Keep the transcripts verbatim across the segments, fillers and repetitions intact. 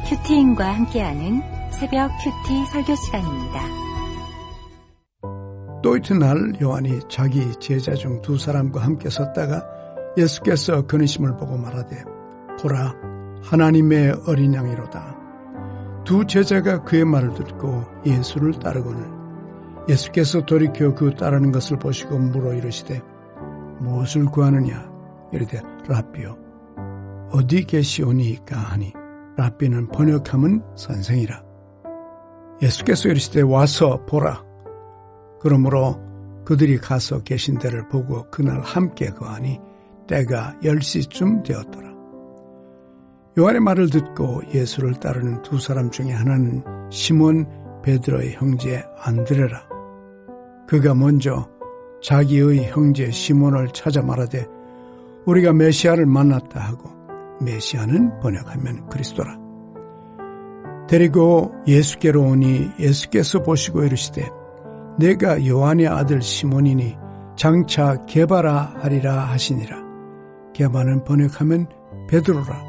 큐티인과 함께하는 새벽 큐티 설교 시간입니다. 또 이튿날 요한이 자기 제자 중 두 사람과 함께 섰다가 예수께서 그니심을 보고 말하되 보라 하나님의 어린 양이로다. 두 제자가 그의 말을 듣고 예수를 따르고는 예수께서 돌이켜 그 따르는 것을 보시고 물어 이르시되 무엇을 구하느냐 이르되 랍비요 어디 계시오니이까 하니 랍비는 번역하면 선생이라. 예수께서 이르시되 와서 보라. 그러므로 그들이 가서 계신 데를 보고 그날 함께 거하니 때가 열 시쯤 되었더라. 요한의 말을 듣고 예수를 따르는 두 사람 중에 하나는 시몬 베드로의 형제 안드레라. 그가 먼저 자기의 형제 시몬을 찾아 말하되 우리가 메시아를 만났다 하고 메시아는 번역하면 그리스도라. 데리고 예수께로 오니 예수께서 보시고 이르시되 내가 요한의 아들 시몬이니 장차 게바라 하리라 하시니라. 게바는 번역하면 베드로라.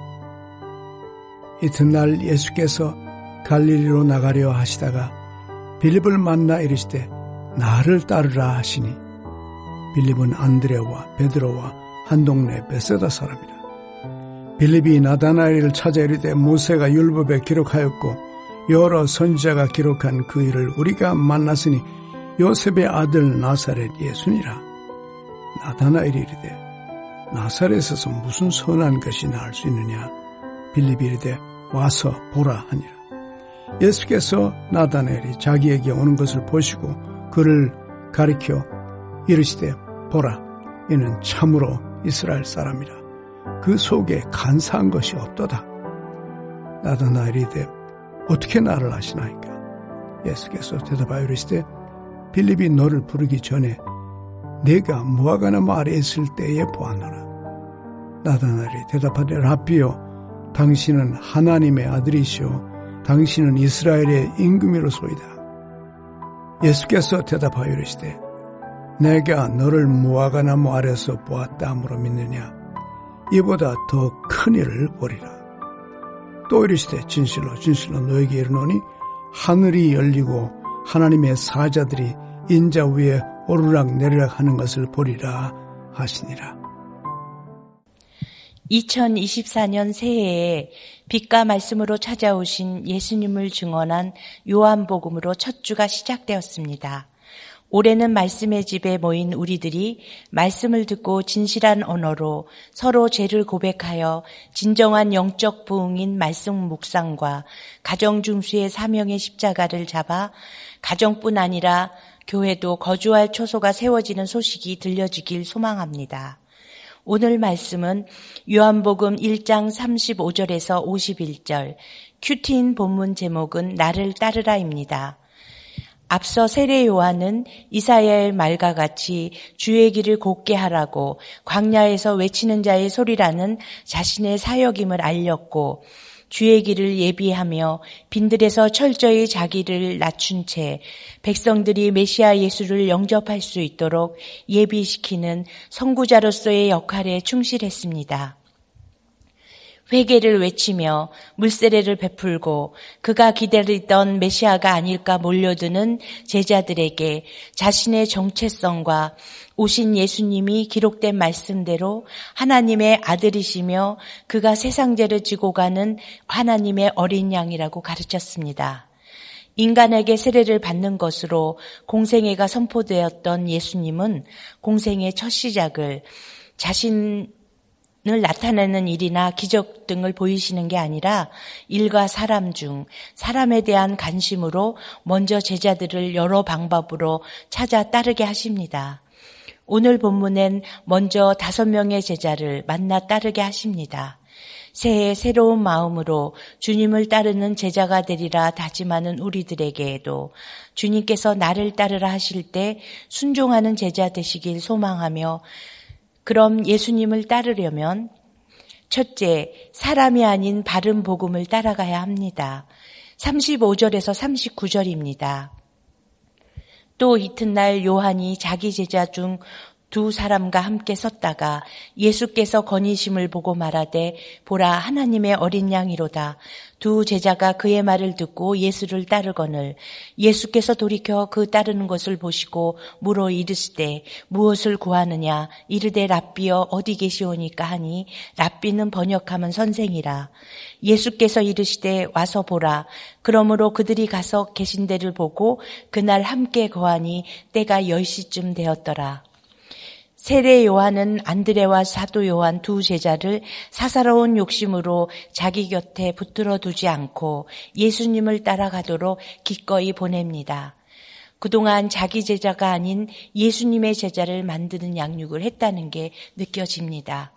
이튿날 예수께서 갈릴리로 나가려 하시다가 빌립을 만나 이르시되 나를 따르라 하시니 빌립은 안드레와 베드로와 한 동네 베세다 사람이라. 빌립이 나다나엘을 찾아 이르되 모세가 율법에 기록하였고 여러 선지자가 기록한 그 일을 우리가 만났으니 요셉의 아들 나사렛 예수니라. 나다나엘이 이르되 나사렛에서 무슨 선한 것이 나을 수 있느냐. 빌립이 이르되 와서 보라 하니라. 예수께서 나다나엘이 자기에게 오는 것을 보시고 그를 가리켜 이르시되 보라 이는 참으로 이스라엘 사람이라. 그 속에 간사한 것이 없도다. 나다나엘이 이르되 어떻게 나를 아시나이까. 예수께서 대답하여 이르시되 빌립이 너를 부르기 전에 내가 무화과나무 아래에 있을 때에 보았노라. 나다나엘이 대답하되 랍비요 당신은 하나님의 아들이시오 당신은 이스라엘의 임금이로소이다. 예수께서 대답하여 이르시되 내가 너를 무화과나무 아래서 보았다 함으로 믿느냐. 이보다 더 큰 일을 보리라. 또 이르시되 진실로 진실로 너에게 이르노니 하늘이 열리고 하나님의 사자들이 인자 위에 오르락 내리락 하는 것을 보리라 하시니라. 이천이십사 년 새해에 빛과 말씀으로 찾아오신 예수님을 증언한 요한복음으로 첫 주가 시작되었습니다. 올해는 말씀의 집에 모인 우리들이 말씀을 듣고 진실한 언어로 서로 죄를 고백하여 진정한 영적 부흥인 말씀 묵상과 가정 중수의 사명의 십자가를 잡아 가정뿐 아니라 교회도 거주할 초소가 세워지는 소식이 들려지길 소망합니다. 오늘 말씀은 요한복음 일 장 삼십오 절에서 오십일 절, 큐티인 본문 제목은 나를 따르라입니다. 앞서 세례 요한은 이사야의 말과 같이 주의 길을 곧게 하라고 광야에서 외치는 자의 소리라는 자신의 사역임을 알렸고 주의 길을 예비하며 빈들에서 철저히 자기를 낮춘 채 백성들이 메시아 예수를 영접할 수 있도록 예비시키는 선구자로서의 역할에 충실했습니다. 회개를 외치며 물세례를 베풀고 그가 기다리던 메시아가 아닐까 몰려드는 제자들에게 자신의 정체성과 오신 예수님이 기록된 말씀대로 하나님의 아들이시며 그가 세상 죄를 지고 가는 하나님의 어린 양이라고 가르쳤습니다. 인간에게 세례를 받는 것으로 공생애가 선포되었던 예수님은 공생의 첫 시작을 자신 을 나타내는 일이나 기적 등을 보이시는 게 아니라 일과 사람 중 사람에 대한 관심으로 먼저 제자들을 여러 방법으로 찾아 따르게 하십니다. 오늘 본문엔 먼저 다섯 명의 제자를 만나 따르게 하십니다. 새해 새로운 마음으로 주님을 따르는 제자가 되리라 다짐하는 우리들에게도 주님께서 나를 따르라 하실 때 순종하는 제자 되시길 소망하며 그럼 예수님을 따르려면 첫째, 사람이 아닌 바른 복음을 따라가야 합니다. 삼십오 절에서 삼십구 절입니다. 또 이튿날 요한이 자기 제자 중 두 사람과 함께 섰다가 예수께서 거니심을 보고 말하되 보라 하나님의 어린 양이로다. 두 제자가 그의 말을 듣고 예수를 따르거늘 예수께서 돌이켜 그 따르는 것을 보시고 물어 이르시되 무엇을 구하느냐 이르되 랍비여 어디 계시오니까 하니 랍비는 번역하면 선생이라. 예수께서 이르시되 와서 보라. 그러므로 그들이 가서 계신 데를 보고 그날 함께 거하니 때가 열 시쯤 되었더라. 세례 요한은 안드레와 사도 요한 두 제자를 사사로운 욕심으로 자기 곁에 붙들어 두지 않고 예수님을 따라가도록 기꺼이 보냅니다. 그동안 자기 제자가 아닌 예수님의 제자를 만드는 양육을 했다는 게 느껴집니다.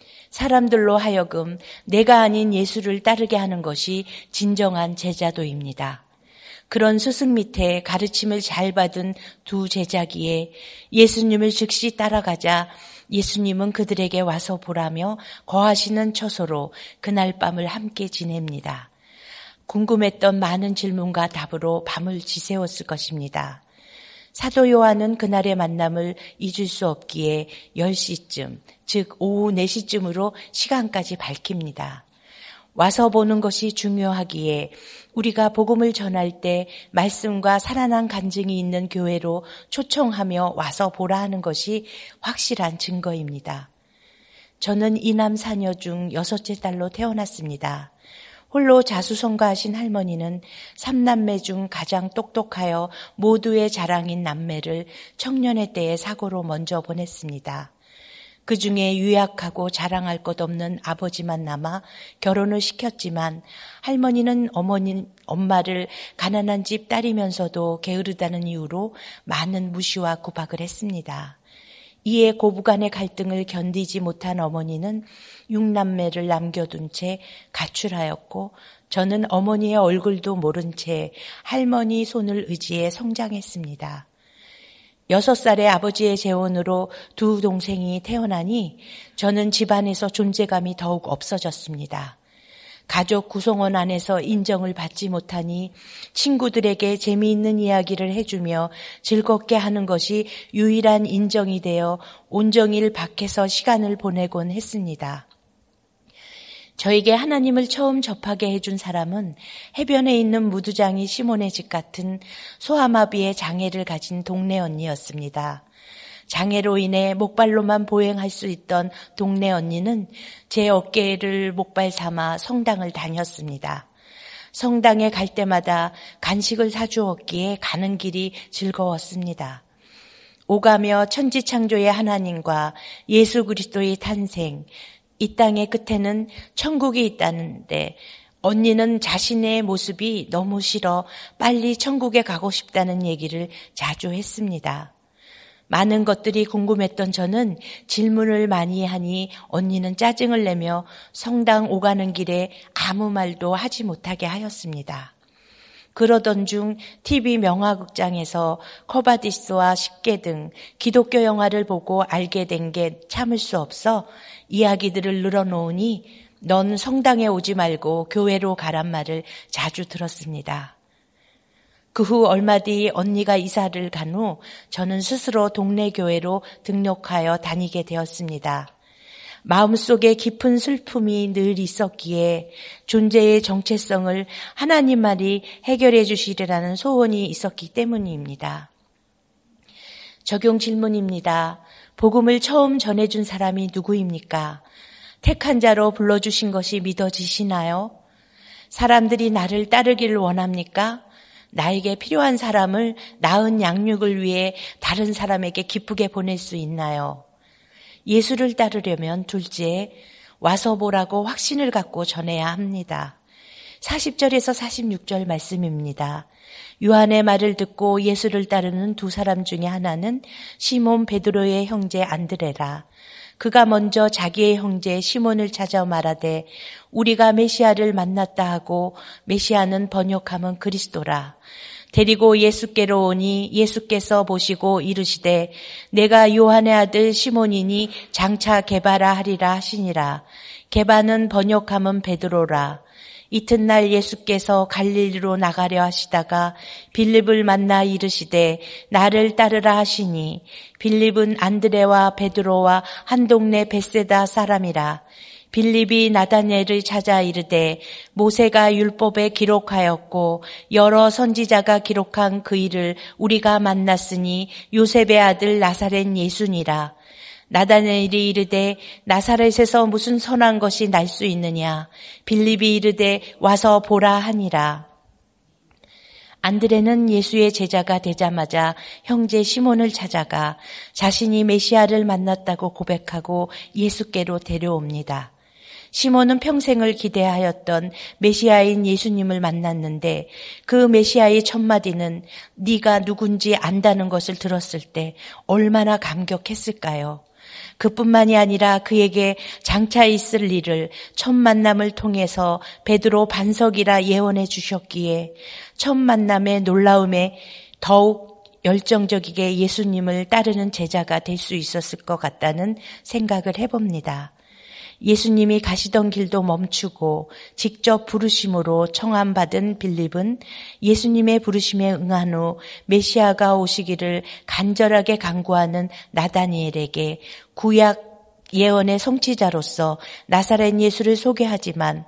사람들로 하여금 내가 아닌 예수를 따르게 하는 것이 진정한 제자도입니다. 그런 스승 밑에 가르침을 잘 받은 두 제자기에 예수님을 즉시 따라가자 예수님은 그들에게 와서 보라며 거하시는 처소로 그날 밤을 함께 지냅니다. 궁금했던 많은 질문과 답으로 밤을 지새웠을 것입니다. 사도 요한은 그날의 만남을 잊을 수 없기에 열 시쯤, 즉 오후 네 시쯤으로 시간까지 밝힙니다. 와서 보는 것이 중요하기에 우리가 복음을 전할 때 말씀과 살아난 간증이 있는 교회로 초청하며 와서 보라 하는 것이 확실한 증거입니다. 저는 이남 사녀 중 여섯째 딸로 태어났습니다. 홀로 자수성가하신 할머니는 삼남매 중 가장 똑똑하여 모두의 자랑인 남매를 청년의 때에 사고로 먼저 보냈습니다. 그 중에 유약하고 자랑할 것 없는 아버지만 남아 결혼을 시켰지만 할머니는 어머니, 엄마를 가난한 집 딸이면서도 게으르다는 이유로 많은 무시와 구박을 했습니다. 이에 고부간의 갈등을 견디지 못한 어머니는 육남매를 남겨둔 채 가출하였고 저는 어머니의 얼굴도 모른 채 할머니 손을 의지해 성장했습니다. 여섯 살의 아버지의 재혼으로 두 동생이 태어나니 저는 집안에서 존재감이 더욱 없어졌습니다. 가족 구성원 안에서 인정을 받지 못하니 친구들에게 재미있는 이야기를 해주며 즐겁게 하는 것이 유일한 인정이 되어 온종일 밖에서 시간을 보내곤 했습니다. 저에게 하나님을 처음 접하게 해준 사람은 해변에 있는 무두장이 시몬의 집 같은 소아마비의 장애를 가진 동네 언니였습니다. 장애로 인해 목발로만 보행할 수 있던 동네 언니는 제 어깨를 목발 삼아 성당을 다녔습니다. 성당에 갈 때마다 간식을 사주었기에 가는 길이 즐거웠습니다. 오가며 천지창조의 하나님과 예수 그리스도의 탄생, 이 땅의 끝에는 천국이 있다는데 언니는 자신의 모습이 너무 싫어 빨리 천국에 가고 싶다는 얘기를 자주 했습니다. 많은 것들이 궁금했던 저는 질문을 많이 하니 언니는 짜증을 내며 성당 오가는 길에 아무 말도 하지 못하게 하였습니다. 그러던 중 티비 명화극장에서 커바디스와 십계 등 기독교 영화를 보고 알게 된 게 참을 수 없어 이야기들을 늘어놓으니 넌 성당에 오지 말고 교회로 가란 말을 자주 들었습니다. 그 후 얼마 뒤 언니가 이사를 간 후 저는 스스로 동네 교회로 등록하여 다니게 되었습니다. 마음속에 깊은 슬픔이 늘 있었기에 존재의 정체성을 하나님만이 해결해 주시리라는 소원이 있었기 때문입니다. 적용 질문입니다. 복음을 처음 전해준 사람이 누구입니까? 택한 자로 불러주신 것이 믿어지시나요? 사람들이 나를 따르기를 원합니까? 나에게 필요한 사람을 나은 양육을 위해 다른 사람에게 기쁘게 보낼 수 있나요? 예수를 따르려면 둘째, 와서 보라고 확신을 갖고 전해야 합니다. 사십 절에서 사십육 절 말씀입니다. 요한의 말을 듣고 예수를 따르는 두 사람 중에 하나는 시몬 베드로의 형제 안드레라. 그가 먼저 자기의 형제 시몬을 찾아 말하되 우리가 메시아를 만났다 하고 메시아는 번역하면 그리스도라. 데리고 예수께로 오니 예수께서 보시고 이르시되 내가 요한의 아들 시몬이니 장차 게바라 하리라 하시니라. 게바는 번역하면 베드로라. 이튿날 예수께서 갈릴리로 나가려 하시다가 빌립을 만나 이르시되 나를 따르라 하시니 빌립은 안드레와 베드로와 한 동네 벳세다 사람이라. 빌립이 나다나엘을 찾아 이르되 모세가 율법에 기록하였고 여러 선지자가 기록한 그 일을 우리가 만났으니 요셉의 아들 나사렛 예수니라. 나다나엘이 이르되 나사렛에서 무슨 선한 것이 날 수 있느냐. 빌립이 이르되 와서 보라 하니라. 안드레는 예수의 제자가 되자마자 형제 시몬을 찾아가 자신이 메시아를 만났다고 고백하고 예수께로 데려옵니다. 시몬은 평생을 기대하였던 메시아인 예수님을 만났는데 그 메시아의 첫 마디는 네가 누군지 안다는 것을 들었을 때 얼마나 감격했을까요? 그뿐만이 아니라 그에게 장차 있을 일을 첫 만남을 통해서 베드로 반석이라 예언해 주셨기에 첫 만남의 놀라움에 더욱 열정적이게 예수님을 따르는 제자가 될 수 있었을 것 같다는 생각을 해봅니다. 예수님이 가시던 길도 멈추고 직접 부르심으로 청함받은 빌립은 예수님의 부르심에 응한 후 메시아가 오시기를 간절하게 간구하는 나다니엘에게 구약 예언의 성취자로서 나사렛 예수를 소개하지만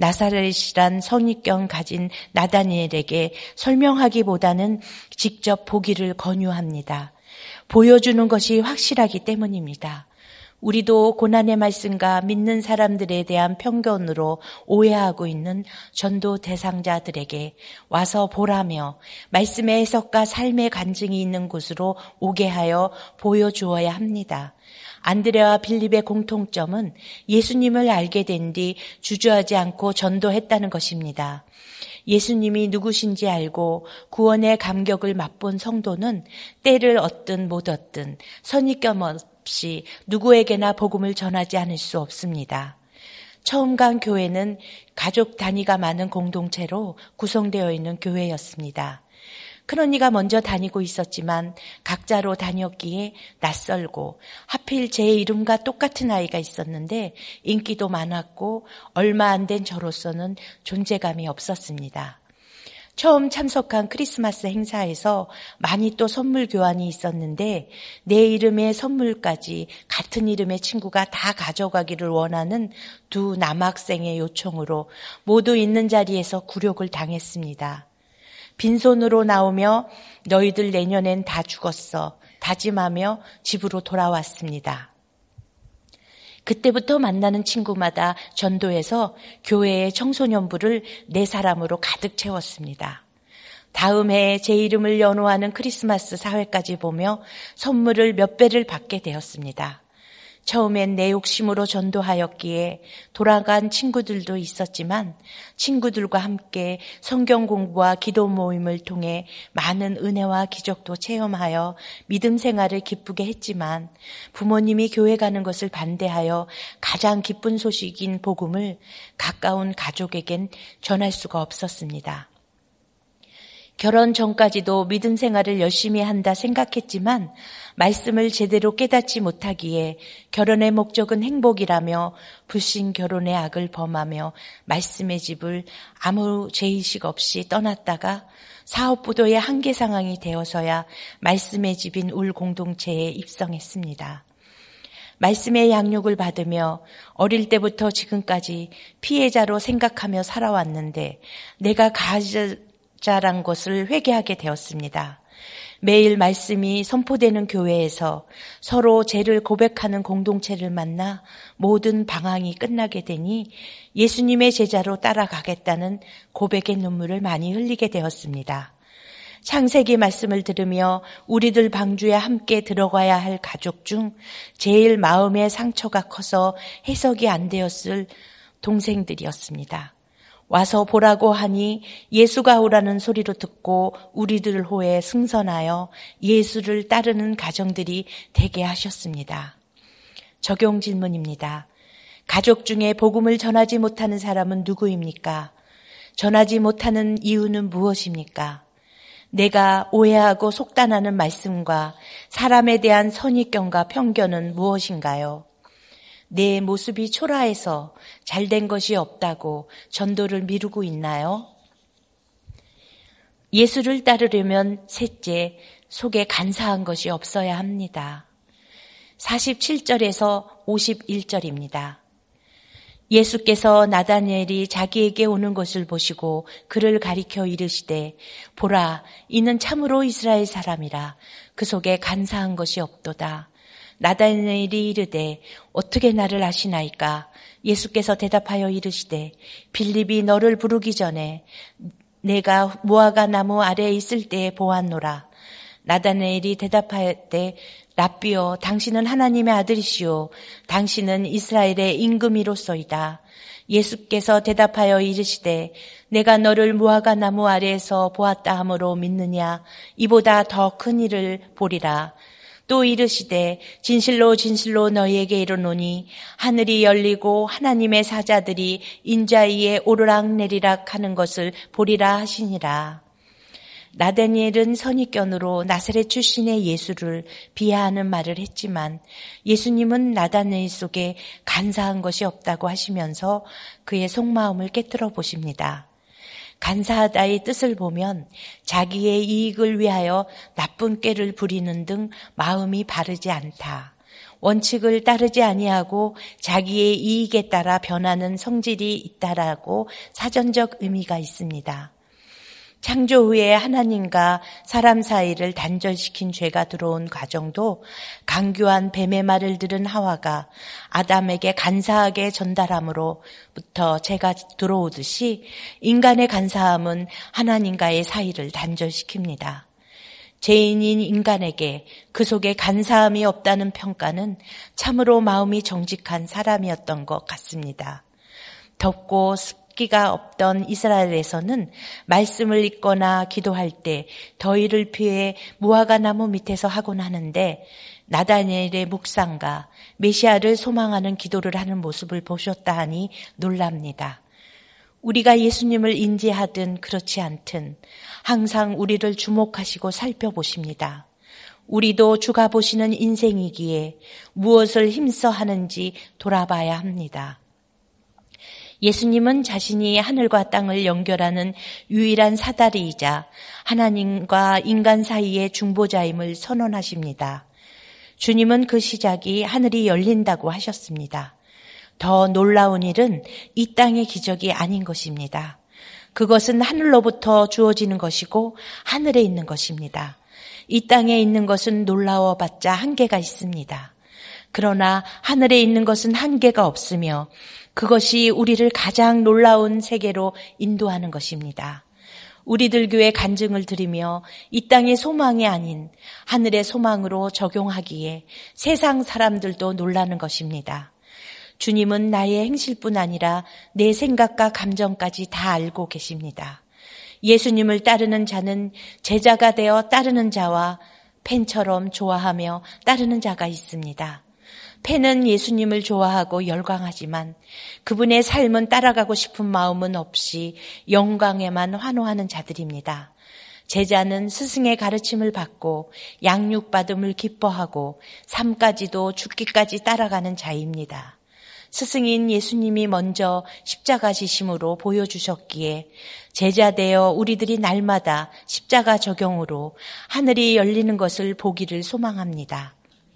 나사렛이란 선입견 가진 나다니엘에게 설명하기보다는 직접 보기를 권유합니다. 보여주는 것이 확실하기 때문입니다. 우리도 고난의 말씀과 믿는 사람들에 대한 편견으로 오해하고 있는 전도 대상자들에게 와서 보라며 말씀의 해석과 삶의 간증이 있는 곳으로 오게 하여 보여주어야 합니다. 안드레와 빌립의 공통점은 예수님을 알게 된 뒤 주저하지 않고 전도했다는 것입니다. 예수님이 누구신지 알고 구원의 감격을 맛본 성도는 때를 얻든 못 얻든 선입견 없이 누구에게나 복음을 전하지 않을 수 없습니다. 처음 간 교회는 가족 단위가 많은 공동체로 구성되어 있는 교회였습니다. 큰언니가 먼저 다니고 있었지만 각자로 다녔기에 낯설고 하필 제 이름과 똑같은 아이가 있었는데 인기도 많았고 얼마 안 된 저로서는 존재감이 없었습니다. 처음 참석한 크리스마스 행사에서 많이 또 선물 교환이 있었는데 내 이름의 선물까지 같은 이름의 친구가 다 가져가기를 원하는 두 남학생의 요청으로 모두 있는 자리에서 굴욕을 당했습니다. 빈손으로 나오며 너희들 내년엔 다 죽었어 다짐하며 집으로 돌아왔습니다. 그때부터 만나는 친구마다 전도해서 교회의 청소년부를 네 사람으로 가득 채웠습니다. 다음 해에 제 이름을 연호하는 크리스마스 사회까지 보며 선물을 몇 배를 받게 되었습니다. 처음엔 내 욕심으로 전도하였기에 돌아간 친구들도 있었지만 친구들과 함께 성경 공부와 기도 모임을 통해 많은 은혜와 기적도 체험하여 믿음 생활을 기쁘게 했지만 부모님이 교회 가는 것을 반대하여 가장 기쁜 소식인 복음을 가까운 가족에겐 전할 수가 없었습니다. 결혼 전까지도 믿음 생활을 열심히 한다 생각했지만 말씀을 제대로 깨닫지 못하기에 결혼의 목적은 행복이라며 불신 결혼의 악을 범하며 말씀의 집을 아무 죄의식 없이 떠났다가 사업부도의 한계 상황이 되어서야 말씀의 집인 울 공동체에 입성했습니다. 말씀의 양육을 받으며 어릴 때부터 지금까지 피해자로 생각하며 살아왔는데 내가 가해자란 것을 회개하게 되었습니다. 매일 말씀이 선포되는 교회에서 서로 죄를 고백하는 공동체를 만나 모든 방황이 끝나게 되니 예수님의 제자로 따라가겠다는 고백의 눈물을 많이 흘리게 되었습니다. 창세기 말씀을 들으며 우리들 방주에 함께 들어가야 할 가족 중 제일 마음의 상처가 커서 해석이 안 되었을 동생들이었습니다. 와서 보라고 하니 예수가 오라는 소리로 듣고 우리들 호에 승선하여 예수를 따르는 가정들이 되게 하셨습니다. 적용 질문입니다. 가족 중에 복음을 전하지 못하는 사람은 누구입니까? 전하지 못하는 이유는 무엇입니까? 내가 오해하고 속단하는 말씀과 사람에 대한 선입견과 편견은 무엇인가요? 내 모습이 초라해서 잘된 것이 없다고 전도를 미루고 있나요? 예수를 따르려면 셋째, 속에 간사한 것이 없어야 합니다. 사십칠 절에서 오십일 절입니다. 예수께서 나다니엘이 자기에게 오는 것을 보시고 그를 가리켜 이르시되 보라 이는 참으로 이스라엘 사람이라 그 속에 간사한 것이 없도다. 나다니엘이 이르되 어떻게 나를 아시나이까? 예수께서 대답하여 이르시되 빌립이 너를 부르기 전에 내가 무화과 나무 아래에 있을 때에 보았노라. 나다니엘이 대답하였되 랍비여 당신은 하나님의 아들이시오 당신은 이스라엘의 임금이로소이다. 예수께서 대답하여 이르시되 내가 너를 무화과 나무 아래에서 보았다 하므로 믿느냐? 이보다 더 큰 일을 보리라. 또 이르시되 진실로 진실로 너희에게 이르노니 하늘이 열리고 하나님의 사자들이 인자 위에 오르락 내리락 하는 것을 보리라 하시니라. 나다니엘은 선입견으로 나사렛 출신의 예수를 비하하는 말을 했지만 예수님은 나다니엘 속에 간사한 것이 없다고 하시면서 그의 속마음을 깨뜨려 보십니다. 간사하다의 뜻을 보면 자기의 이익을 위하여 나쁜 꾀를 부리는 등 마음이 바르지 않다. 원칙을 따르지 아니하고 자기의 이익에 따라 변하는 성질이 있다라고 사전적 의미가 있습니다. 창조 후에 하나님과 사람 사이를 단절시킨 죄가 들어온 과정도 강교한 뱀의 말을 들은 하와가 아담에게 간사하게 전달함으로부터 죄가 들어오듯이 인간의 간사함은 하나님과의 사이를 단절시킵니다. 죄인인 인간에게 그 속에 간사함이 없다는 평가는 참으로 마음이 정직한 사람이었던 것 같습니다. 덥고 기가 없던 이스라엘에서는 말씀을 읽거나 기도할 때 더위를 피해 무화과 나무 밑에서 하곤 하는데 나다니엘의 묵상과 메시아를 소망하는 기도를 하는 모습을 보셨다 하니 놀랍니다. 우리가 예수님을 인지하든 그렇지 않든 항상 우리를 주목하시고 살펴보십니다. 우리도 주가 보시는 인생이기에 무엇을 힘써 하는지 돌아봐야 합니다. 예수님은 자신이 하늘과 땅을 연결하는 유일한 사다리이자 하나님과 인간 사이의 중보자임을 선언하십니다. 주님은 그 시작이 하늘이 열린다고 하셨습니다. 더 놀라운 일은 이 땅의 기적이 아닌 것입니다. 그것은 하늘로부터 주어지는 것이고 하늘에 있는 것입니다. 이 땅에 있는 것은 놀라워봤자 한계가 있습니다. 그러나 하늘에 있는 것은 한계가 없으며 그것이 우리를 가장 놀라운 세계로 인도하는 것입니다. 우리들 교회 간증을 드리며 이 땅의 소망이 아닌 하늘의 소망으로 적용하기에 세상 사람들도 놀라는 것입니다. 주님은 나의 행실뿐 아니라 내 생각과 감정까지 다 알고 계십니다. 예수님을 따르는 자는 제자가 되어 따르는 자와 팬처럼 좋아하며 따르는 자가 있습니다. 팬은 예수님을 좋아하고 열광하지만 그분의 삶은 따라가고 싶은 마음은 없이 영광에만 환호하는 자들입니다. 제자는 스승의 가르침을 받고 양육받음을 기뻐하고 삶까지도 죽기까지 따라가는 자입니다. 스승인 예수님이 먼저 십자가 지심으로 보여주셨기에 제자되어 우리들이 날마다 십자가 적용으로 하늘이 열리는 것을 보기를 소망합니다.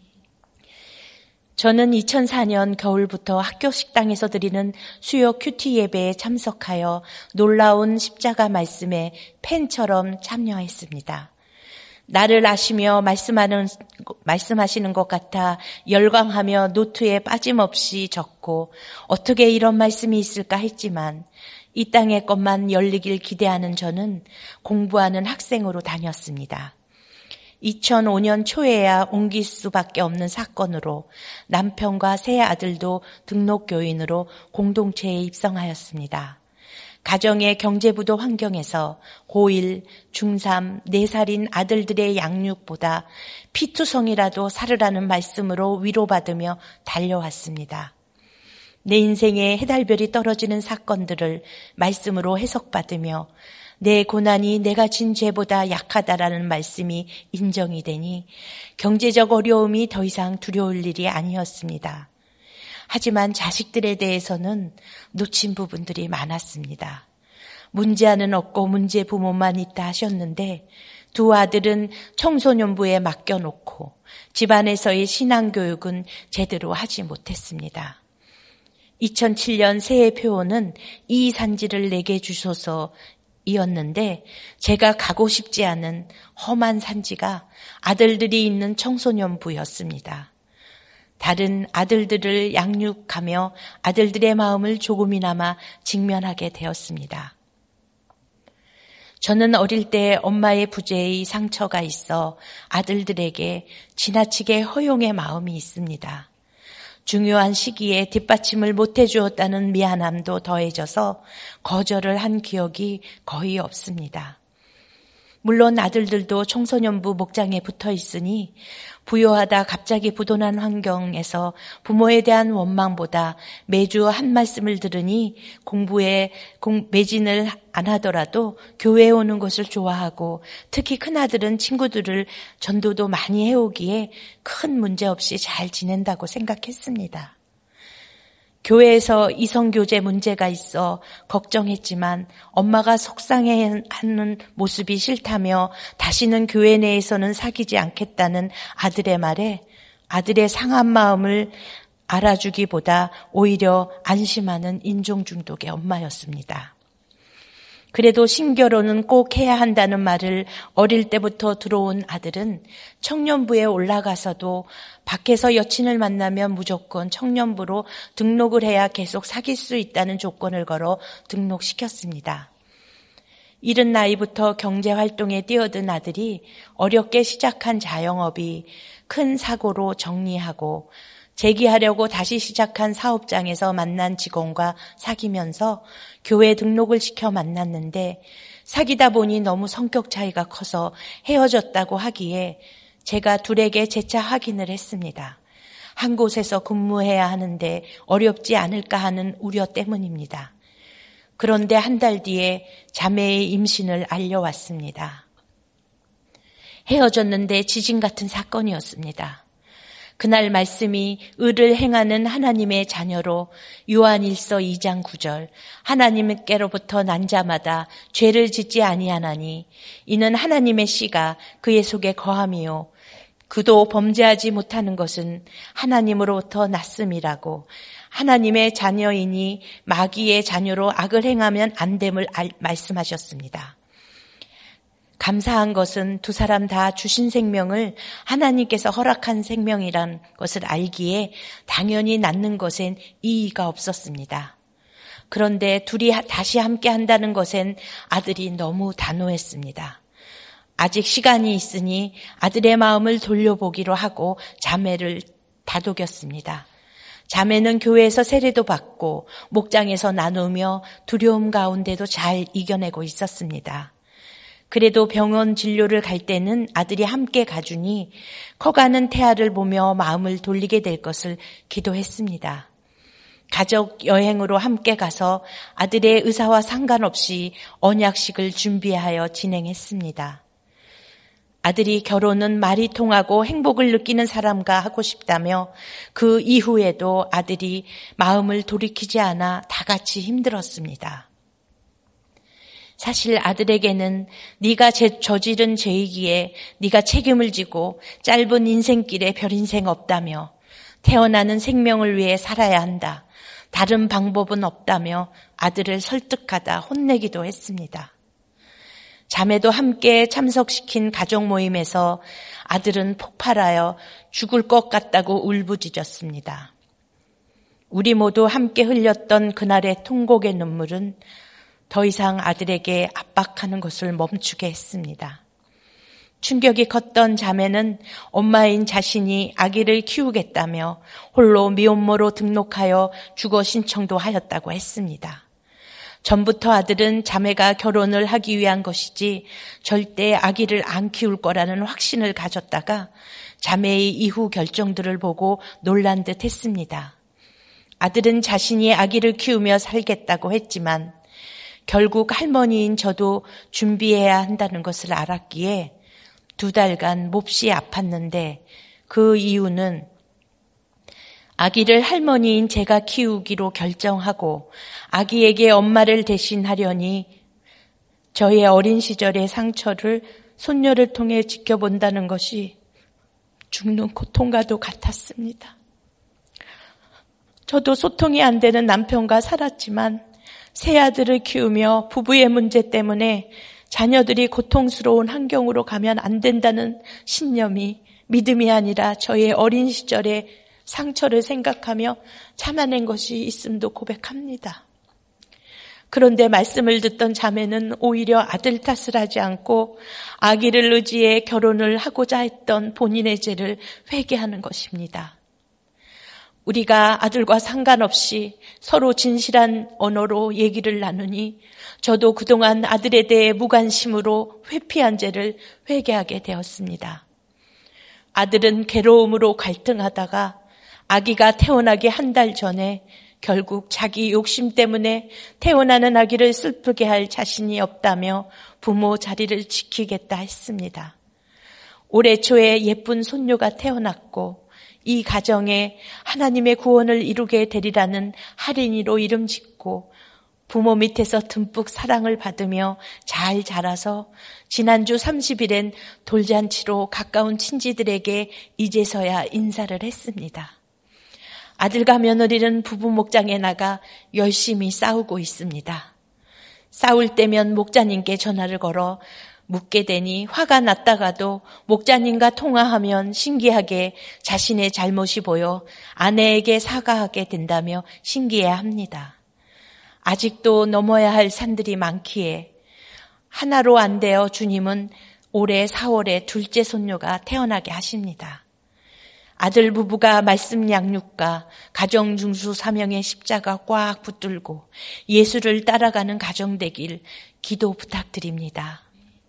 저는 이천사 년 겨울부터 학교 식당에서 드리는 수요 큐티 예배에 참석하여 놀라운 십자가 말씀에 팬처럼 참여했습니다. 나를 아시며 말씀하는, 말씀하시는 것 같아 열광하며 노트에 빠짐없이 적고 어떻게 이런 말씀이 있을까 했지만 이 땅의 것만 열리길 기대하는 저는 공부하는 학생으로 다녔습니다. 이천오 년 초에야 옮길 수밖에 없는 사건으로 남편과 세 아들도 등록교인으로 공동체에 입성하였습니다. 가정의 경제부도 환경에서 고일, 중삼, 네 살인 아들들의 양육보다 피투성이라도 살으라는 말씀으로 위로받으며 달려왔습니다. 내 인생에 해달별이 떨어지는 사건들을 말씀으로 해석받으며 내 고난이 내가 진 죄보다 약하다라는 말씀이 인정이 되니 경제적 어려움이 더 이상 두려울 일이 아니었습니다. 하지만 자식들에 대해서는 놓친 부분들이 많았습니다. 문제아는 없고 문제 부모만 있다 하셨는데 두 아들은 청소년부에 맡겨놓고 집안에서의 신앙교육은 제대로 하지 못했습니다. 이천칠 년 새해 표어는 이 산지를 내게 주소서 이었는데 제가 가고 싶지 않은 험한 산지가 아들들이 있는 청소년부였습니다. 다른 아들들을 양육하며 아들들의 마음을 조금이나마 직면하게 되었습니다. 저는 어릴 때 엄마의 부재의 상처가 있어 아들들에게 지나치게 허용의 마음이 있습니다. 중요한 시기에 뒷받침을 못해 주었다는 미안함도 더해져서 거절을 한 기억이 거의 없습니다. 물론 아들들도 청소년부 목장에 붙어 있으니 부유하다 갑자기 부도난 환경에서 부모에 대한 원망보다 매주 한 말씀을 들으니 공부에 매진을 안 하더라도 교회에 오는 것을 좋아하고 특히 큰아들은 친구들을 전도도 많이 해오기에 큰 문제 없이 잘 지낸다고 생각했습니다. 교회에서 이성교제 문제가 있어 걱정했지만 엄마가 속상해하는 모습이 싫다며 다시는 교회 내에서는 사귀지 않겠다는 아들의 말에 아들의 상한 마음을 알아주기보다 오히려 안심하는 인종중독의 엄마였습니다. 그래도 신결혼은 꼭 해야 한다는 말을 어릴 때부터 들어온 아들은 청년부에 올라가서도 밖에서 여친을 만나면 무조건 청년부로 등록을 해야 계속 사귈 수 있다는 조건을 걸어 등록시켰습니다. 이른 나이부터 경제활동에 뛰어든 아들이 어렵게 시작한 자영업이 큰 사고로 정리하고 재기하려고 다시 시작한 사업장에서 만난 직원과 사귀면서 교회 등록을 시켜 만났는데 사귀다 보니 너무 성격 차이가 커서 헤어졌다고 하기에 제가 둘에게 재차 확인을 했습니다. 한 곳에서 근무해야 하는데 어렵지 않을까 하는 우려 때문입니다. 그런데 한 달 뒤에 자매의 임신을 알려왔습니다. 헤어졌는데 지진 같은 사건이었습니다. 그날 말씀이 의를 행하는 하나님의 자녀로 요한일서 이 장 구 절 하나님께로부터 난 자마다 죄를 짓지 아니하나니 이는 하나님의 씨가 그의 속에 거함이요 그도 범죄하지 못하는 것은 하나님으로부터 났음이라고 하나님의 자녀이니 마귀의 자녀로 악을 행하면 안 됨을 말씀하셨습니다. 감사한 것은 두 사람 다 주신 생명을 하나님께서 허락한 생명이란 것을 알기에 당연히 낳는 것엔 이의가 없었습니다. 그런데 둘이 다시 함께 한다는 것엔 아들이 너무 단호했습니다. 아직 시간이 있으니 아들의 마음을 돌려보기로 하고 자매를 다독였습니다. 자매는 교회에서 세례도 받고 목장에서 나누며 두려움 가운데도 잘 이겨내고 있었습니다. 그래도 병원 진료를 갈 때는 아들이 함께 가주니 커가는 태아를 보며 마음을 돌리게 될 것을 기도했습니다. 가족 여행으로 함께 가서 아들의 의사와 상관없이 언약식을 준비하여 진행했습니다. 아들이 결혼은 말이 통하고 행복을 느끼는 사람과 하고 싶다며 그 이후에도 아들이 마음을 돌이키지 않아 다 같이 힘들었습니다. 사실 아들에게는 네가 저지른 죄이기에 네가 책임을 지고 짧은 인생길에 별 인생 없다며 태어나는 생명을 위해 살아야 한다. 다른 방법은 없다며 아들을 설득하다 혼내기도 했습니다. 자매도 함께 참석시킨 가족 모임에서 아들은 폭발하여 죽을 것 같다고 울부짖었습니다. 우리 모두 함께 흘렸던 그날의 통곡의 눈물은 더 이상 아들에게 압박하는 것을 멈추게 했습니다. 충격이 컸던 자매는 엄마인 자신이 아기를 키우겠다며 홀로 미혼모로 등록하여 주거 신청도 하였다고 했습니다. 전부터 아들은 자매가 결혼을 하기 위한 것이지 절대 아기를 안 키울 거라는 확신을 가졌다가 자매의 이후 결정들을 보고 놀란 듯 했습니다. 아들은 자신이 아기를 키우며 살겠다고 했지만 결국 할머니인 저도 준비해야 한다는 것을 알았기에 두 달간 몹시 아팠는데 그 이유는 아기를 할머니인 제가 키우기로 결정하고 아기에게 엄마를 대신하려니 저의 어린 시절의 상처를 손녀를 통해 지켜본다는 것이 죽는 고통과도 같았습니다. 저도 소통이 안 되는 남편과 살았지만 세 아들을 키우며 부부의 문제 때문에 자녀들이 고통스러운 환경으로 가면 안 된다는 신념이 믿음이 아니라 저의 어린 시절의 상처를 생각하며 참아낸 것이 있음도 고백합니다. 그런데 말씀을 듣던 자매는 오히려 아들 탓을 하지 않고 아기를 의지해 결혼을 하고자 했던 본인의 죄를 회개하는 것입니다. 우리가 아들과 상관없이 서로 진실한 언어로 얘기를 나누니 저도 그동안 아들에 대해 무관심으로 회피한 죄를 회개하게 되었습니다. 아들은 괴로움으로 갈등하다가 아기가 태어나기 한 달 전에 결국 자기 욕심 때문에 태어나는 아기를 슬프게 할 자신이 없다며 부모 자리를 지키겠다 했습니다. 올해 초에 예쁜 손녀가 태어났고 이 가정에 하나님의 구원을 이루게 되리라는 할인이로 이름 짓고 부모 밑에서 듬뿍 사랑을 받으며 잘 자라서 지난주 삼십 일엔 돌잔치로 가까운 친지들에게 이제서야 인사를 했습니다. 아들과 며느리는 부부 목장에 나가 열심히 싸우고 있습니다. 싸울 때면 목자님께 전화를 걸어 묻게 되니 화가 났다가도 목자님과 통화하면 신기하게 자신의 잘못이 보여 아내에게 사과하게 된다며 신기해합니다. 아직도 넘어야 할 산들이 많기에 하나로 안 되어 주님은 올해 사월에 둘째 손녀가 태어나게 하십니다. 아들 부부가 말씀 양육과 가정 중수 사명의 십자가 꽉 붙들고 예수를 따라가는 가정 되길 기도 부탁드립니다.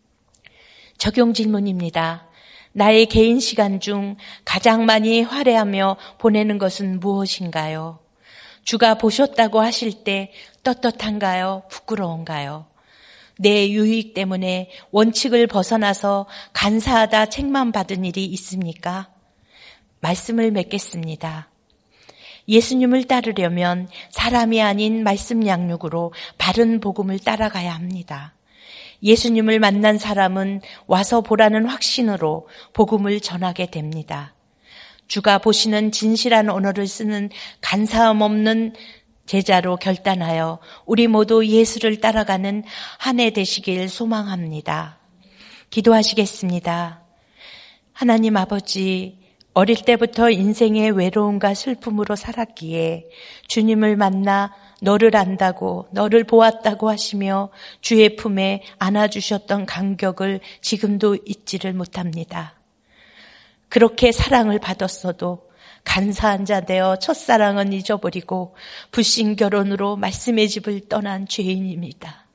적용 질문입니다. 나의 개인 시간 중 가장 많이 활애하며 보내는 것은 무엇인가요? 주가 보셨다고 하실 때 떳떳한가요? 부끄러운가요? 내 유익 때문에 원칙을 벗어나서 간사하다 책만 받은 일이 있습니까? 말씀을 맺겠습니다. 예수님을 따르려면 사람이 아닌 말씀 양육으로 바른 복음을 따라가야 합니다. 예수님을 만난 사람은 와서 보라는 확신으로 복음을 전하게 됩니다. 주가 보시는 진실한 언어를 쓰는 간사함 없는 제자로 결단하여 우리 모두 예수를 따라가는 한 해 되시길 소망합니다. 기도하시겠습니다. 하나님 아버지, 어릴 때부터 인생의 외로움과 슬픔으로 살았기에 주님을 만나 너를 안다고 너를 보았다고 하시며 주의 품에 안아주셨던 감격을 지금도 잊지를 못합니다. 그렇게 사랑을 받았어도 간사한 자 되어 첫사랑은 잊어버리고 불신 결혼으로 말씀의 집을 떠난 죄인입니다.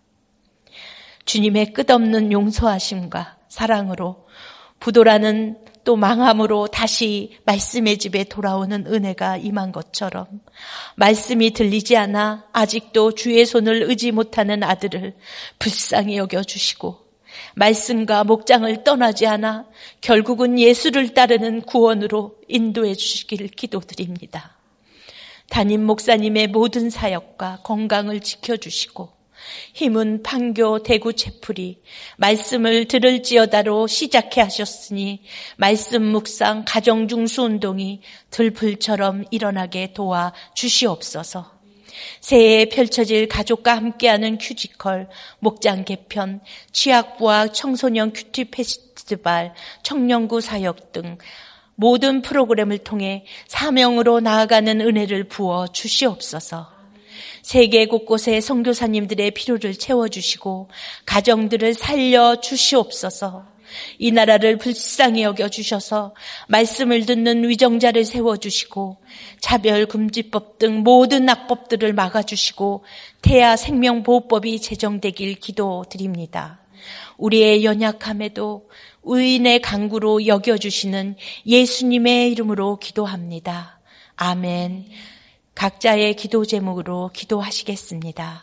주님의 끝없는 용서하심과 사랑으로 부도라는 또 망함으로 다시 말씀의 집에 돌아오는 은혜가 임한 것처럼 말씀이 들리지 않아 아직도 주의 손을 의지 못하는 아들을 불쌍히 여겨주시고 말씀과 목장을 떠나지 않아 결국은 예수를 따르는 구원으로 인도해 주시기를 기도드립니다. 담임 목사님의 모든 사역과 건강을 지켜주시고 힘은 판교 대구 채플이 말씀을 들을지어다로 시작해 하셨으니 말씀 묵상 가정중수 운동이 들불처럼 일어나게 도와 주시옵소서. 새해에 펼쳐질 가족과 함께하는 뮤지컬, 목장 개편, 취약부와 청소년 큐티 페스티벌, 청년구 사역 등 모든 프로그램을 통해 사명으로 나아가는 은혜를 부어 주시옵소서. 세계 곳곳의 선교사님들의 필요를 채워주시고 가정들을 살려주시옵소서. 이 나라를 불쌍히 여겨주셔서 말씀을 듣는 위정자를 세워주시고 차별금지법 등 모든 악법들을 막아주시고 태아 생명보호법이 제정되길 기도드립니다. 우리의 연약함에도 의인의 강구로 여겨주시는 예수님의 이름으로 기도합니다. 아멘. 각자의 기도 제목으로 기도하시겠습니다.